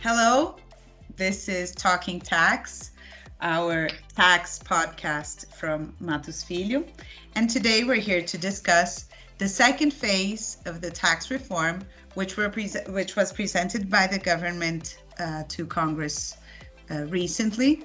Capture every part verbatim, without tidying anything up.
Hello, this is Talking Tax, our tax podcast from Matos Filho. And today we're here to discuss the second phase of the tax reform, which, were pre- which was presented by the government uh, to Congress uh, recently,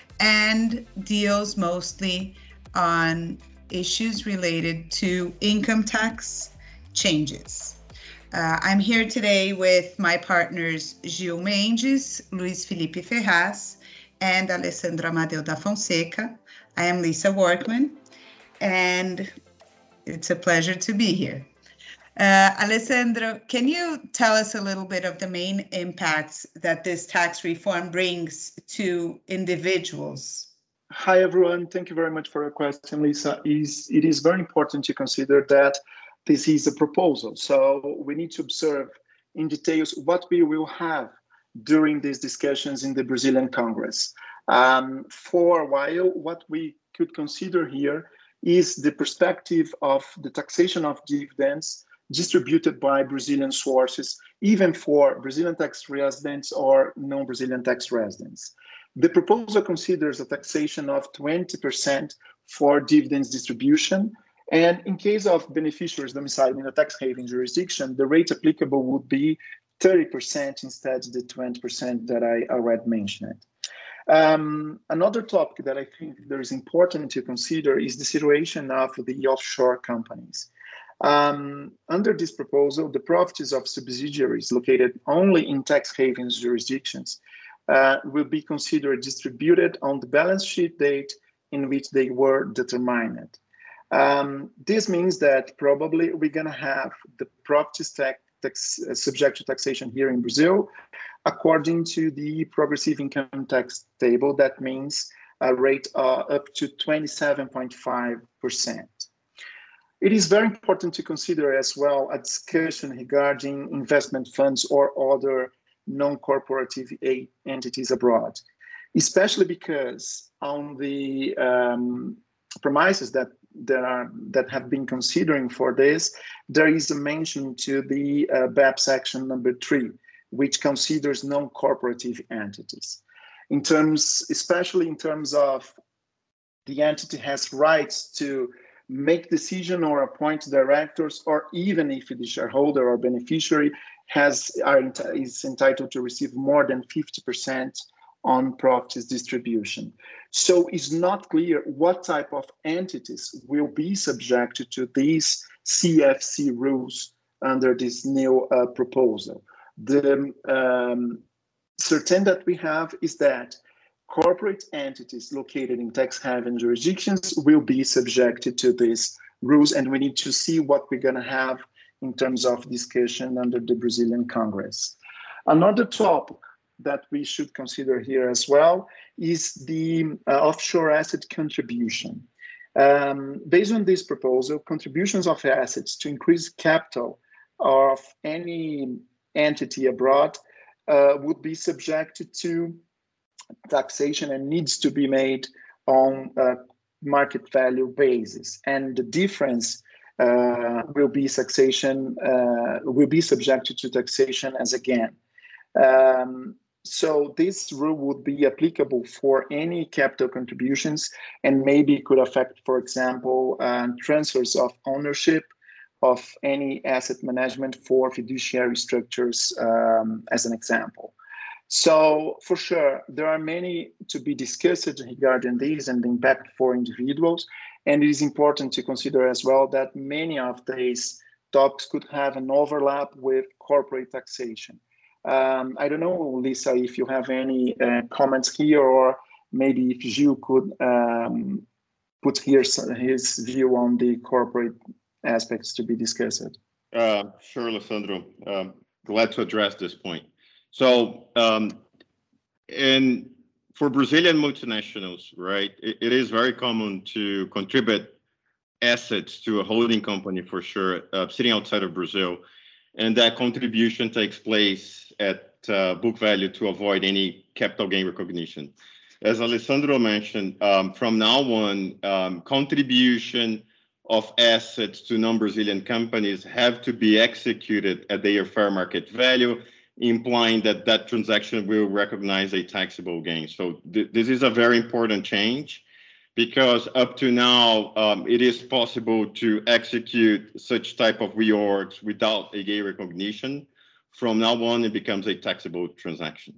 and deals mostly on issues related to income tax changes. Uh, I'm here today with my partners Gil Mendes, Luis Felipe Ferraz, and Alessandro Amadeu da Fonseca. I am Lisa Workman, and it's a pleasure to be here. Uh, Alessandro, can you tell us a little bit of the main impacts that this tax reform brings to individuals? Hi, everyone. Thank you very much for your question, Lisa. It is very important to consider that this is a proposal. So we need to observe in details what we will have during these discussions in the Brazilian Congress. Um, for a while, what we could consider here is the perspective of the taxation of dividends distributed by Brazilian sources, even for Brazilian tax residents or non-Brazilian tax residents. The proposal considers a taxation of twenty percent for dividends distribution. And in case of beneficiaries domiciled in a tax haven jurisdiction, the rate applicable would be thirty percent instead of the twenty percent that I already mentioned. Um, another topic that I think there is important to consider is the situation of the offshore companies. Um, under this proposal, the profits of subsidiaries located only in tax havens jurisdictions uh, will be considered distributed on the balance sheet date in which they were determined. Um, this means that probably we're going to have the properties tax, tax uh, subject to taxation here in Brazil, according to the progressive income tax table. That means a rate uh, up to twenty-seven point five percent. It is very important to consider as well a discussion regarding investment funds or other non-corporative entities abroad, especially because on the um, premises that that are that have been considering for this, there is a mention to the uh, B E P section number three, which considers non-corporative entities. In terms, especially in terms of the entity has rights to make decision or appoint directors, or even if the shareholder or beneficiary has are, is entitled to receive more than fifty percent on profits distribution. So it's not clear what type of entities will be subjected to these C F C rules under this new uh, proposal. The um, certain that we have is that corporate entities located in tax haven jurisdictions will be subjected to these rules, and we need to see what we're going to have in terms of discussion under the Brazilian Congress. Another topic that we should consider here as well is the uh, offshore asset contribution. Um, based on this proposal, contributions of assets to increase capital of any entity abroad uh, would be subjected to taxation and needs to be made on a market value basis. And the difference uh, will be taxation, uh, will be subjected to taxation as again. Um, So this rule would be applicable for any capital contributions, and maybe could affect, for example, uh, transfers of ownership of any asset management for fiduciary structures, um, as an example. So for sure, there are many to be discussed regarding these and the impact for individuals. And it is important to consider as well that many of these topics could have an overlap with corporate taxation. Um, I don't know, Lisa, if you have any uh, comments here, or maybe if Gil could um, put here his view on the corporate aspects to be discussed. Uh, sure, Alessandro. Um, glad to address this point. So, um, and for Brazilian multinationals, right, it, it is very common to contribute assets to a holding company, for sure, uh, sitting outside of Brazil. And that contribution takes place at uh, book value to avoid any capital gain recognition. As Alessandro mentioned, um, from now on, um, contribution of assets to non-Brazilian companies have to be executed at their fair market value implying that that transaction will recognize a taxable gain. So th this is a very important change, because up to now, um, it is possible to execute such type of reorgs without a gain recognition. From now on, it becomes a taxable transaction.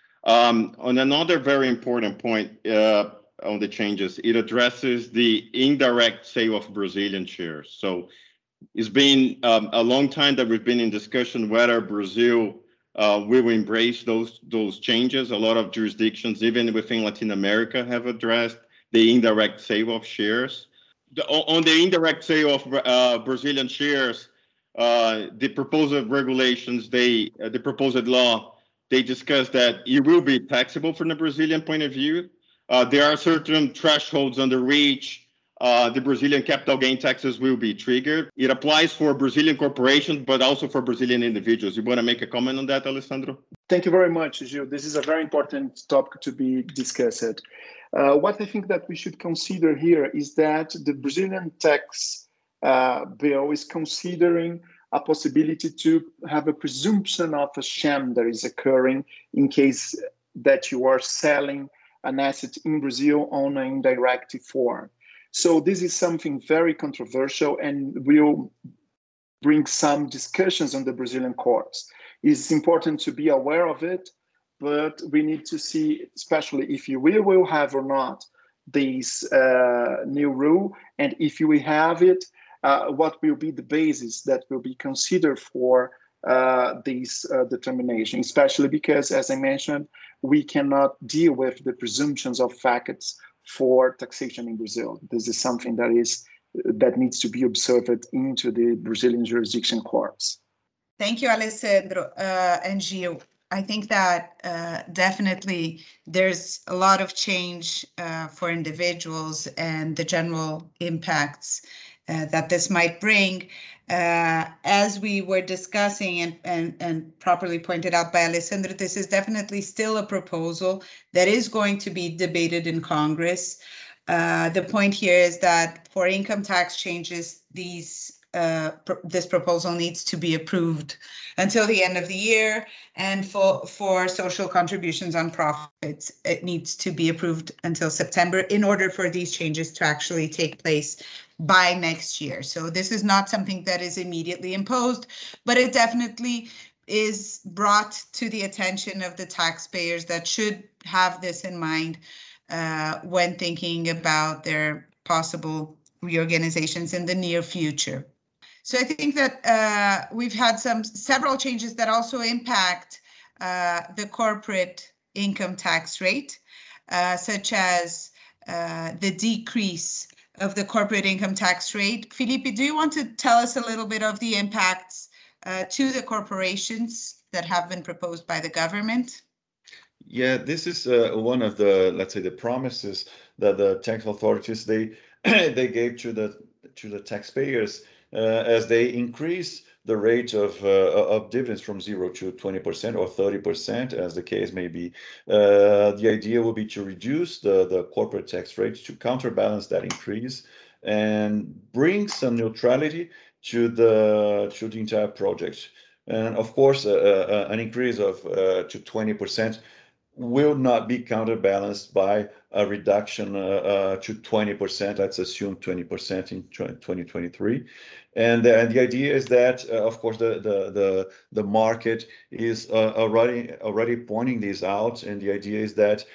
Um, on another very important point uh, on the changes, it addresses the indirect sale of Brazilian shares. So it's been um, a long time that we've been in discussion whether Brazil uh, will embrace those those changes. A lot of jurisdictions, even within Latin America, have addressed the indirect sale of shares. The, on the indirect sale of uh, Brazilian shares, uh, the proposed regulations, they uh, the proposed law, they discuss that it will be taxable from the Brazilian point of view. Uh, there are certain thresholds under which uh, the Brazilian capital gain taxes will be triggered. It applies for Brazilian corporations, but also for Brazilian individuals. You want to make a comment on that, Alessandro? Thank you very much, Gil. This is a very important topic to be discussed. Uh, what I think that we should consider here is that the Brazilian tax uh, bill is considering a possibility to have a presumption of a sham that is occurring in case that you are selling an asset in Brazil on an indirect form. So this is something very controversial and will bring some discussions on the Brazilian courts. It's important to be aware of it, but we need to see, especially if you will, will have or not this uh, new rule, and if you will have it, uh, what will be the basis that will be considered for uh, this uh, determination, especially because, as I mentioned, we cannot deal with the presumptions of facts for taxation in Brazil. This is something that is that needs to be observed into the Brazilian jurisdiction courts. Thank you, Alessandro uh, and Gil. I think that uh, definitely there's a lot of change uh, for individuals and the general impacts uh, that this might bring. Uh, as we were discussing and, and, and properly pointed out by Alessandro, this is definitely still a proposal that is going to be debated in Congress. Uh, the point here is that for income tax changes, these uh, pr this proposal needs to be approved until the end of the year, and for for social contributions on profits, it needs to be approved until September in order for these changes to actually take place by next year. So this is not something that is immediately imposed, but it definitely is brought to the attention of the taxpayers that should have this in mind uh, when thinking about their possible reorganizations in the near future. So I think that uh, we've had some several changes that also impact uh, the corporate income tax rate, uh, such as uh, the decrease of the corporate income tax rate. Felipe, do you want to tell us a little bit of the impacts uh, to the corporations that have been proposed by the government? Yeah, this is uh, one of the, let's say, the promises that the tax authorities they they gave to the to the taxpayers uh, as they increase the rate of uh, of dividends from zero to twenty percent or thirty percent, as the case may be. Uh, the idea will be to reduce the the corporate tax rate to counterbalance that increase and bring some neutrality to the to the entire project. And of course, uh, uh, an increase of uh, to twenty percent will not be counterbalanced by a reduction uh, uh, to twenty percent. Let's assume twenty percent in twenty twenty-three. And, and the idea is that, uh, of course, the, the, the, the market is uh, already, already pointing this out. And the idea is that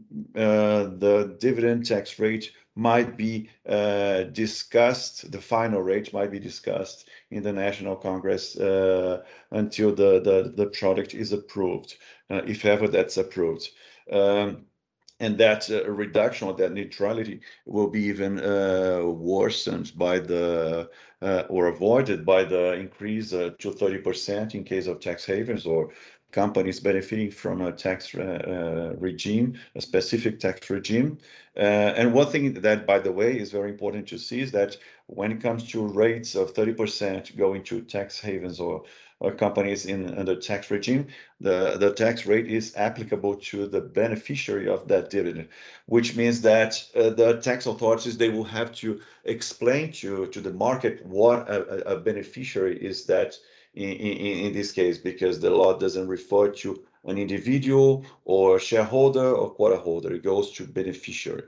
uh, the dividend tax rate might be uh, discussed, the final rate might be discussed in the National Congress uh, until the, the, the product is approved, uh, if ever that's approved. Um, and that uh, reduction or that neutrality will be even uh, worsened by the, uh, or avoided by the increase uh, to thirty percent in case of tax havens or companies benefiting from a tax uh, regime, a specific tax regime. Uh, and one thing that, by the way, is very important to see is that when it comes to rates of thirty percent going to tax havens or, or companies in under tax regime, the, the tax rate is applicable to the beneficiary of that dividend, which means that uh, the tax authorities, they will have to explain to, to the market what a, a beneficiary is that in, in, in this case, because the law doesn't refer to an individual or shareholder or quota holder. It goes to beneficiary.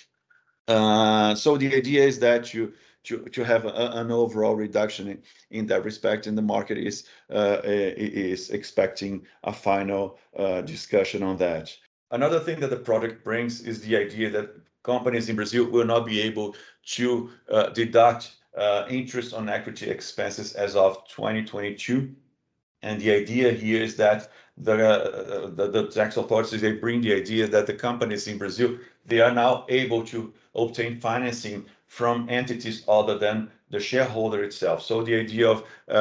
Uh, so the idea is that you to, to have a, an overall reduction in, in that respect, and the market is uh, is expecting a final uh, discussion on that. Another thing that the product brings is the idea that companies in Brazil will not be able to uh, deduct uh, interest on equity expenses as of twenty twenty-two. And the idea here is that the, uh, the, the tax authorities, they bring the idea that the companies in Brazil, they are now able to obtain financing from entities other than the shareholder itself. So the idea of uh,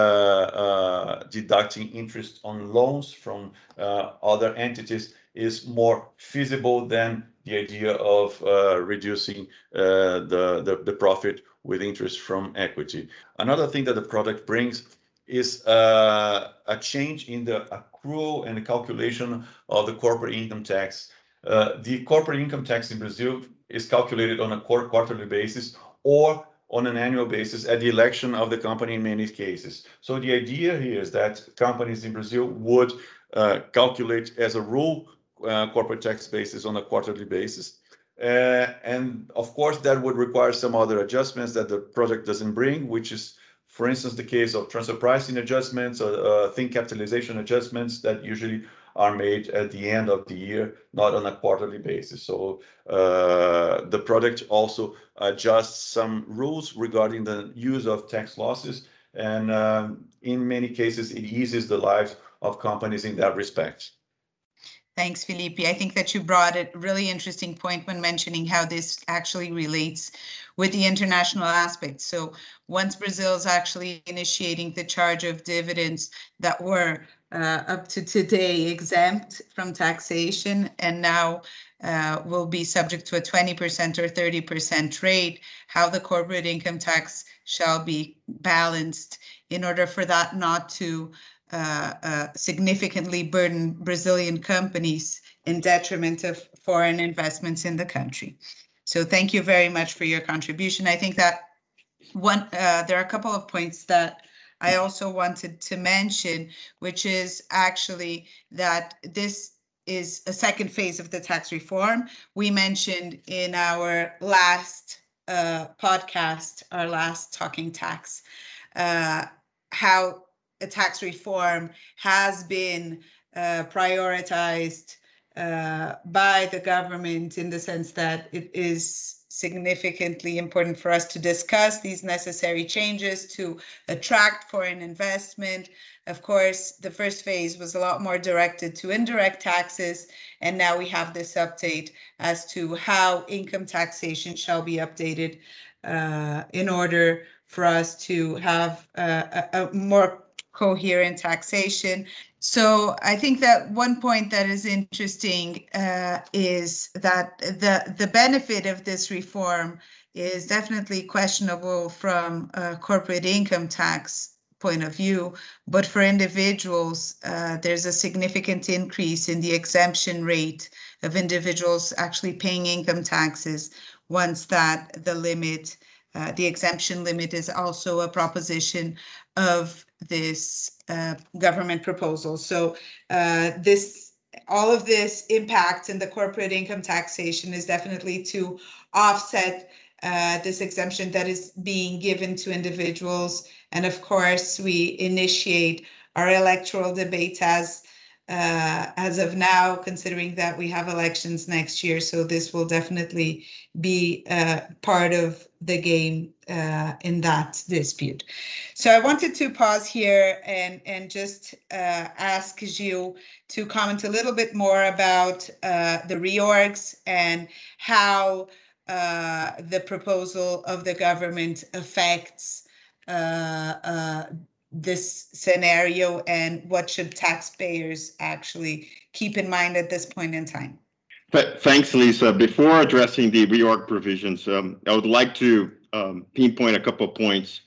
uh, deducting interest on loans from uh, other entities is more feasible than the idea of uh, reducing uh, the, the, the profit with interest from equity. Another thing that the product brings is uh, a change in the accrual and the calculation of the corporate income tax. Uh, the corporate income tax in Brazil is calculated on a quarterly basis or on an annual basis at the election of the company in many cases. So the idea here is that companies in Brazil would uh, calculate as a rule uh, corporate tax basis on a quarterly basis. Uh, and of course, that would require some other adjustments that the project doesn't bring, which is, for instance, the case of transfer pricing adjustments or uh, think capitalization adjustments that usually are made at the end of the year, not on a quarterly basis. So uh, the product also adjusts some rules regarding the use of tax losses. And um, in many cases, it eases the lives of companies in that respect. Thanks, Felipe. I think that you brought a really interesting point when mentioning how this actually relates with the international aspect. So once Brazil is actually initiating the charge of dividends that were uh, up to today exempt from taxation and now uh, will be subject to a twenty percent or thirty percent rate, how the corporate income tax shall be balanced in order for that not to Uh, uh, significantly burden Brazilian companies in detriment of foreign investments in the country. So thank you very much for your contribution. I think that one uh, there are a couple of points that I also wanted to mention, which is actually that this is a second phase of the tax reform. We mentioned in our last uh, podcast, our last Talking Tax, uh, how a tax reform has been uh, prioritized uh, by the government in the sense that it is significantly important for us to discuss these necessary changes to attract foreign investment. Of course, the first phase was a lot more directed to indirect taxes, and now we have this update as to how income taxation shall be updated uh, in order for us to have uh, a, a more coherent taxation. So I think that one point that is interesting uh, is that the, the benefit of this reform is definitely questionable from a corporate income tax point of view, but for individuals, uh, there's a significant increase in the exemption rate of individuals actually paying income taxes once that the limit, uh, the exemption limit is also a proposition of this uh, government proposal. So uh, this, all of this impact in the corporate income taxation is definitely to offset uh, this exemption that is being given to individuals. And of course, we initiate our electoral debate as uh, as of now, considering that we have elections next year. So this will definitely be uh, part of the game uh, in that dispute. So I wanted to pause here and, and just uh, ask Gilles to comment a little bit more about uh, the reorgs and how uh, the proposal of the government affects uh, uh, this scenario and what should taxpayers actually keep in mind at this point in time. Thanks, Lisa. Before addressing the reorg provisions, um, I would like to um, pinpoint a couple of points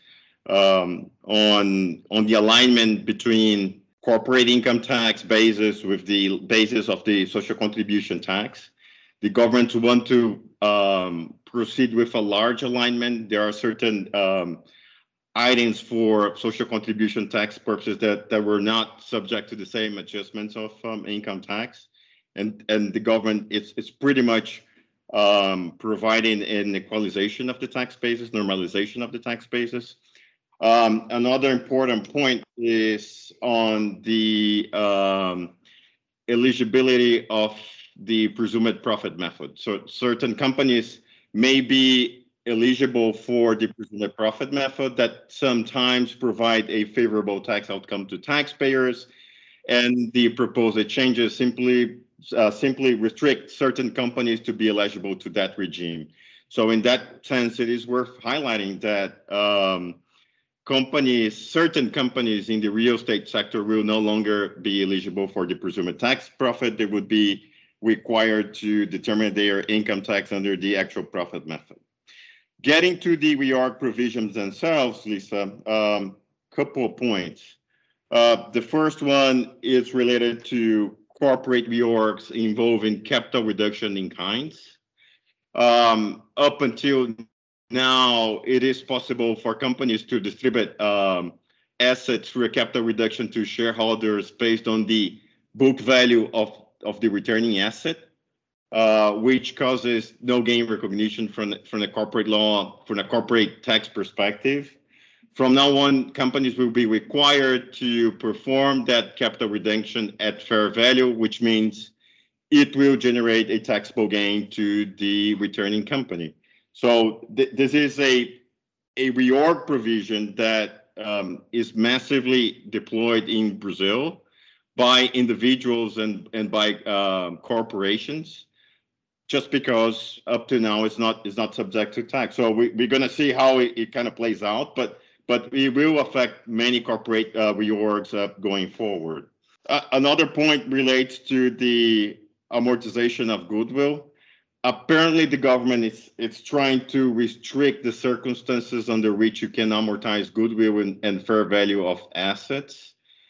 um, on, on the alignment between corporate income tax basis with the basis of the social contribution tax. The government want to um, proceed with a large alignment. There are certain um, items for social contribution tax purposes that, that were not subject to the same adjustments of um, income tax. And, and the government is, is pretty much um, providing an equalization of the tax basis, normalization of the tax basis. Um, another important point is on the um, eligibility of the presumed profit method. So certain companies may be eligible for the presumed profit method that sometimes provide a favorable tax outcome to taxpayers, and the proposed changes simply uh, simply restrict certain companies to be eligible to that regime. So in that sense, it is worth highlighting that um, companies, certain companies in the real estate sector will no longer be eligible for the presumed tax profit. They would be required to determine their income tax under the actual profit method. Getting to the reorg provisions themselves, Lisa, um, couple of points. Uh, the first one is related to corporate reorgs involving capital reduction in kinds. Um, up until now, it is possible for companies to distribute um, assets through a capital reduction to shareholders based on the book value of, of the returning asset, uh, which causes no gain recognition from, from the corporate law, from a corporate tax perspective. From now on, companies will be required to perform that capital reduction at fair value, which means it will generate a taxable gain to the returning company. So th this is a, a reorg provision that um, is massively deployed in Brazil by individuals and, and by um, corporations, just because up to now it's not, it's not subject to tax. So we, we're gonna see how it, it kind of plays out, but but it will affect many corporate uh, reorgs uh, going forward. Uh, another point relates to the amortization of goodwill. Apparently, the government is it's trying to restrict the circumstances under which you can amortize goodwill and, and fair value of assets.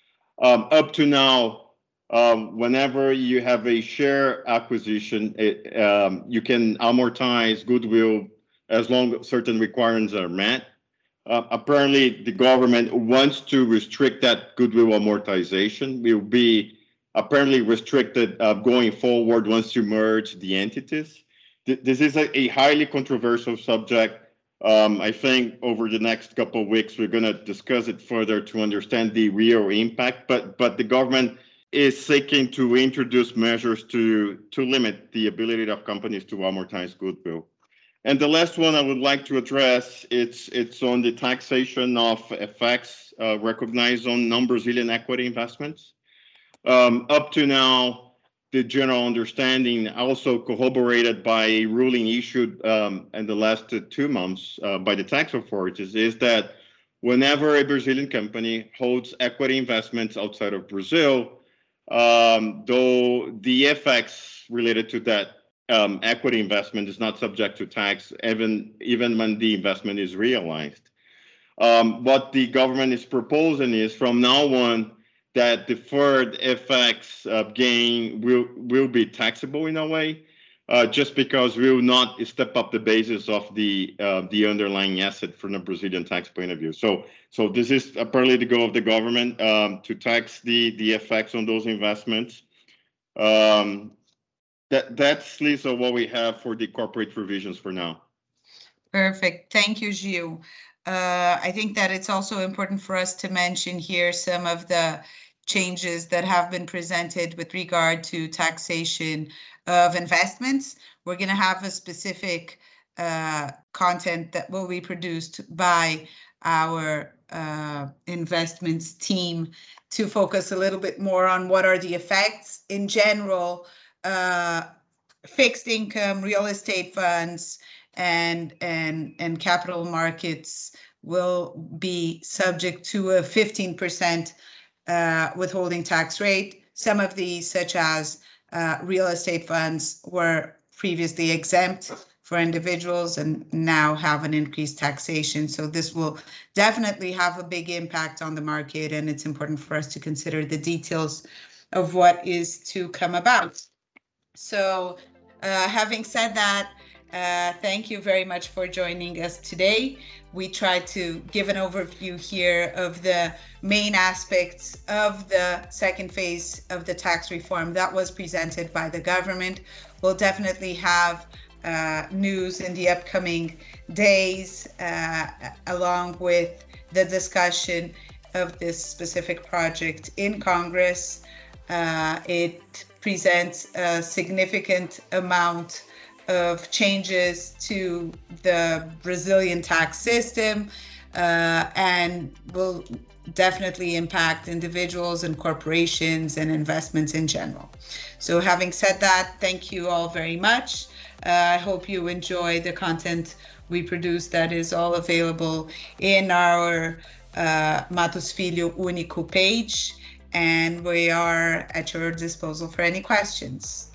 Um, up to now, um, whenever you have a share acquisition, it, um, you can amortize goodwill as long as certain requirements are met. Uh, apparently, the government wants to restrict that goodwill amortization. Will be apparently restricted uh, going forward once you merge the entities. Th this is a, a highly controversial subject. Um, I think over the next couple of weeks, we're going to discuss it further to understand the real impact. But but the government is seeking to introduce measures to to limit the ability of companies to amortize goodwill. And the last one I would like to address, it's it's on the taxation of effects uh, recognized on non-Brazilian equity investments. Um, up to now, the general understanding, also corroborated by a ruling issued um, in the last two months uh, by the tax authorities, is that whenever a Brazilian company holds equity investments outside of Brazil, um, though the effects related to that Um, equity investment is not subject to tax, even even when the investment is realized. Um, what the government is proposing is from now on that deferred F X uh, gain will will be taxable in a way, uh, just because we will not step up the basis of the uh, the underlying asset from a Brazilian tax point of view. So so this is apparently the goal of the government um, to tax the the effects on those investments. Um, That, that's, Lisa, what we have for the corporate provisions for now. Perfect. Thank you, Gil. Uh, I think that it's also important for us to mention here some of the changes that have been presented with regard to taxation of investments. We're going to have a specific uh, content that will be produced by our uh, investments team to focus a little bit more on what are the effects in general. Uh, fixed income, real estate funds, and and and capital markets will be subject to a fifteen percent uh, withholding tax rate. Some of these, such as uh, real estate funds, were previously exempt for individuals and now have an increased taxation. So this will definitely have a big impact on the market, and it's important for us to consider the details of what is to come about. So uh, having said that, Uh, thank you very much for joining us today. We tried to give an overview here of the main aspects of the second phase of the tax reform that was presented by the government. We'll definitely have uh, news in the upcoming days, uh, along with the discussion of this specific project in Congress. Uh, it presents a significant amount of changes to the Brazilian tax system, uh, and will definitely impact individuals and corporations and investments in general. So having said that, thank you all very much. Uh, I hope you enjoy the content we produce that is all available in our uh, Matos Filho Único page, and we are at your disposal for any questions.